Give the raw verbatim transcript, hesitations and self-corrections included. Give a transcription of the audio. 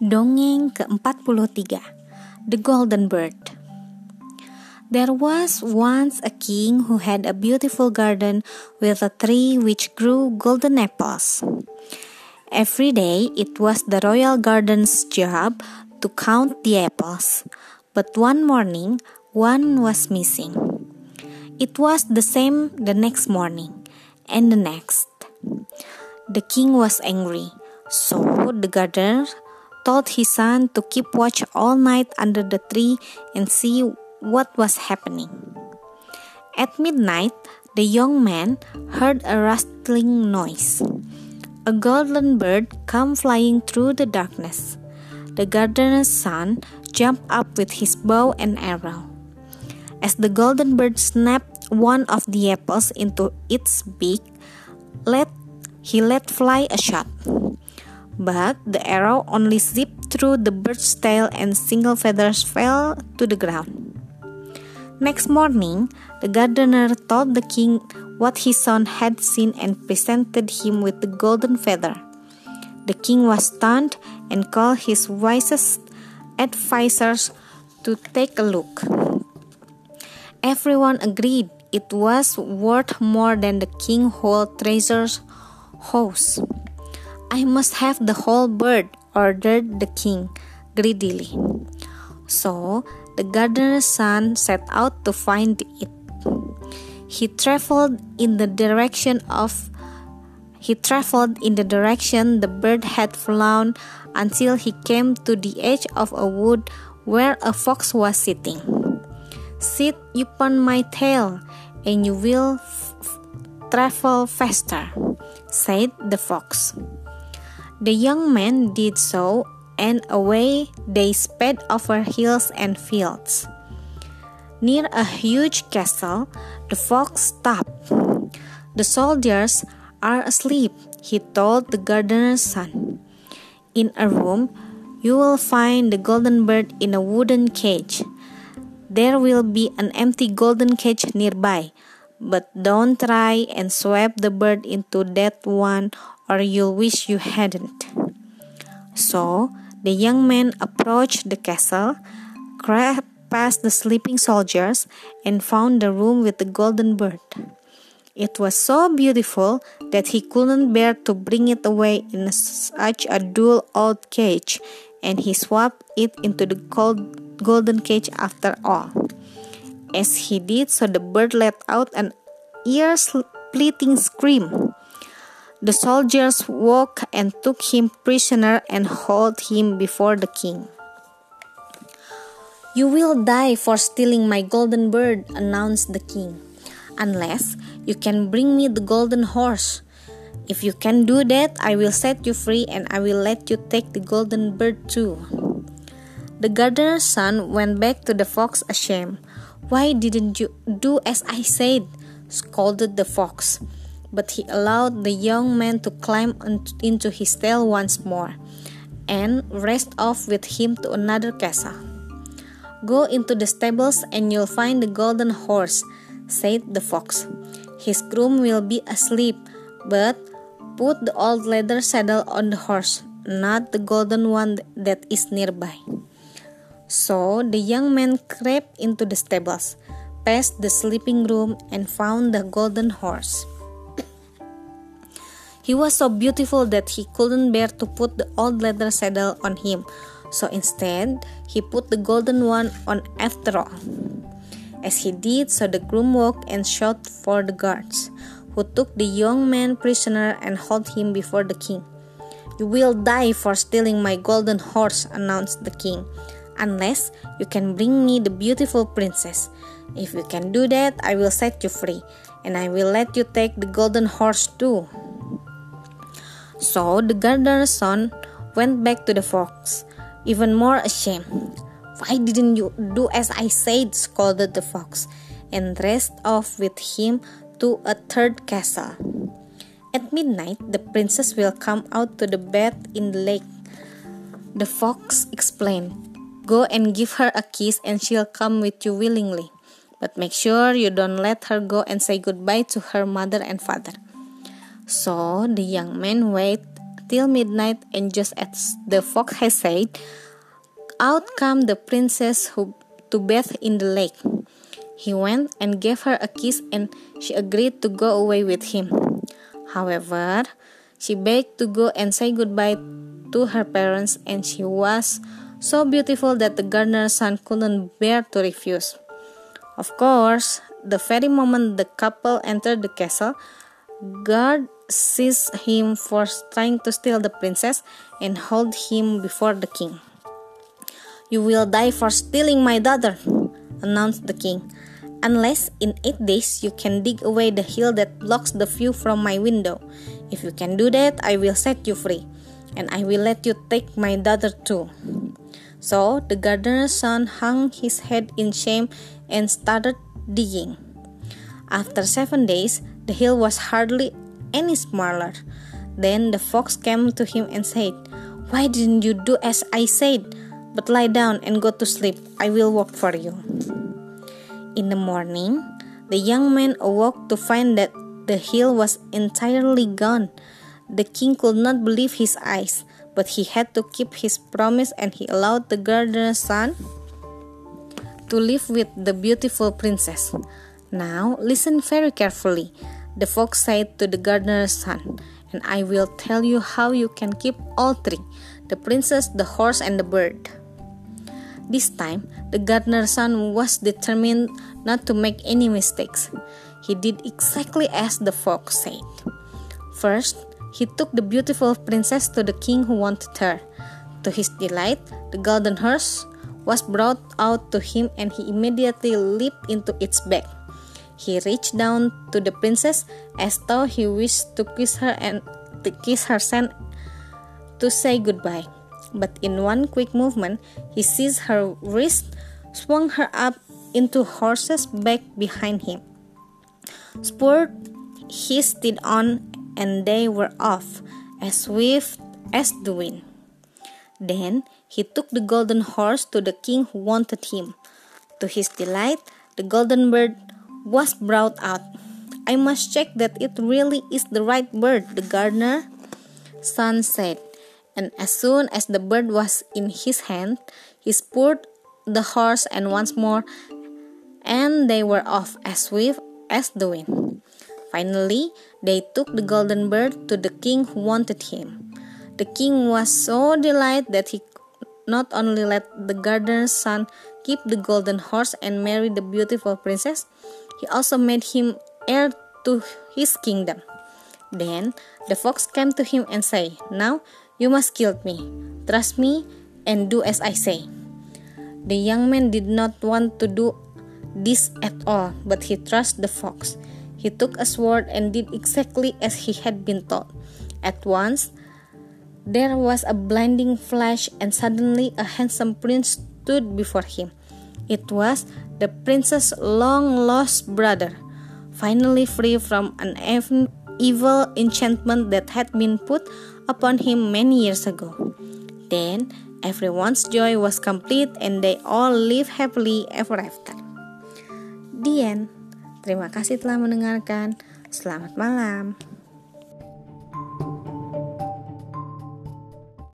Dongeng keempat puluh tiga, The Golden Bird. There was once a king who had a beautiful garden with a tree which grew golden apples. Every day it was the royal garden's job to count the apples, but one morning one was missing. It was the same the next morning, and the next. The king was angry, so the gardener told his son to keep watch all night under the tree and see what was happening. At midnight, the young man heard a rustling noise. A golden bird came flying through the darkness. The gardener's son jumped up with his bow and arrow. As the golden bird snapped one of the apples into its beak, let, he let fly a shot. But the arrow only zipped through the bird's tail and single feathers fell to the ground. Next morning, the gardener told the king what his son had seen and presented him with the golden feather. The king was stunned and called his wisest advisors to take a look. Everyone agreed it was worth more than the king's whole treasure house. "I must have the whole bird," ordered the king greedily. So the gardener's son set out to find it. He traveled in the direction of he traveled in the direction the bird had flown until he came to the edge of a wood where a fox was sitting. "Sit upon my tail, and you will f- f- travel faster," said the fox. The young man did so, and away they sped over hills and fields. Near a huge castle, the fox stopped. "The soldiers are asleep," he told the gardener's son. "In a room, you will find the golden bird in a wooden cage. There will be an empty golden cage nearby, but don't try and swap the bird into that one, or you'll wish you hadn't." So the young man approached the castle, crept past the sleeping soldiers, and found the room with the golden bird. It was so beautiful that he couldn't bear to bring it away in such a dull old cage, and he swapped it into the cold golden cage after all. As he did so, the bird let out an ear-splitting scream. The soldiers woke and took him prisoner and hauled him before the king. "You will die for stealing my golden bird," announced the king, "unless you can bring me the golden horse. If you can do that, I will set you free, and I will let you take the golden bird too." The gardener's son went back to the fox ashamed. "Why didn't you do as I said?" scolded the fox. But he allowed the young man to climb into his tail once more, and raced off with him to another castle. "Go into the stables and you'll find the golden horse," said the fox. "His groom will be asleep, but put the old leather saddle on the horse, not the golden one that is nearby." So the young man crept into the stables, past the sleeping groom, and found the golden horse. He was so beautiful that he couldn't bear to put the old leather saddle on him, so instead he put the golden one on after all. As he did so, the groom woke and shouted for the guards, who took the young man prisoner and hauled him before the king. "You will die for stealing my golden horse," announced the king, "unless you can bring me the beautiful princess. If you can do that, I will set you free, and I will let you take the golden horse too." So the gardener's son went back to the fox, even more ashamed. "Why didn't you do as I said?" scolded the fox, and raced off with him to a third castle. At midnight, the princess will come out to the bath in the lake. The fox explained, "Go and give her a kiss and she'll come with you willingly. But make sure you don't let her go and say goodbye to her mother and father." So the young man waited till midnight, and just as the fox had said, out came the princess who to bathe in the lake. He went and gave her a kiss, and she agreed to go away with him. However, she begged to go and say goodbye to her parents, and she was so beautiful that the gardener's son couldn't bear to refuse. Of course, the very moment the couple entered the castle, guards seized him for trying to steal the princess and held him before the king. "You will die for stealing my daughter," announced the king, "unless in eight days you can dig away the hill that blocks the view from my window. If you can do that, I will set you free, and I will let you take my daughter too." So the gardener's son hung his head in shame and started digging. After seven days, the hill was hardly any smaller. Then the fox came to him and said, "Why didn't you do as I said? But lie down and go to sleep. I will work for you." In the morning, the young man awoke to find that the hill was entirely gone. The king could not believe his eyes, but he had to keep his promise, and he allowed the gardener's son to live with the beautiful princess. "Now listen very carefully," the fox said to the gardener's son, "and I will tell you how you can keep all three: the princess, the horse, and the bird." This time, the gardener's son was determined not to make any mistakes. He did exactly as the fox said. First, he took the beautiful princess to the king who wanted her. To his delight, the golden horse was brought out to him, and he immediately leaped into its back. He reached down to the princess as though he wished to kiss her and to kiss her hand to say goodbye. But in one quick movement, he seized her wrist, swung her up into horse's back behind him, spurred his steed on, and they were off as swift as the wind. Then he took the golden horse to the king who wanted him. To his delight, the golden bird was brought out. "I must check that it really is the right bird," the gardener's son said. And as soon as the bird was in his hand, he spurred the horse and once more, and they were off as swift as the wind. Finally, they took the golden bird to the king who wanted him. The king was so delighted that he not only let the gardener's son keep the golden horse and marry the beautiful princess, he also made him heir to his kingdom. Then the fox came to him and said, "Now you must kill me. Trust me and do as I say." The young man did not want to do this at all, but he trusted the fox. He took a sword and did exactly as he had been told. At once, there was a blinding flash, and suddenly a handsome prince stood before him. It was the princess's long-lost brother, finally free from an evil enchantment that had been put upon him many years ago. Then everyone's joy was complete, and they all lived happily ever after. The end. Terima kasih telah mendengarkan. Selamat malam.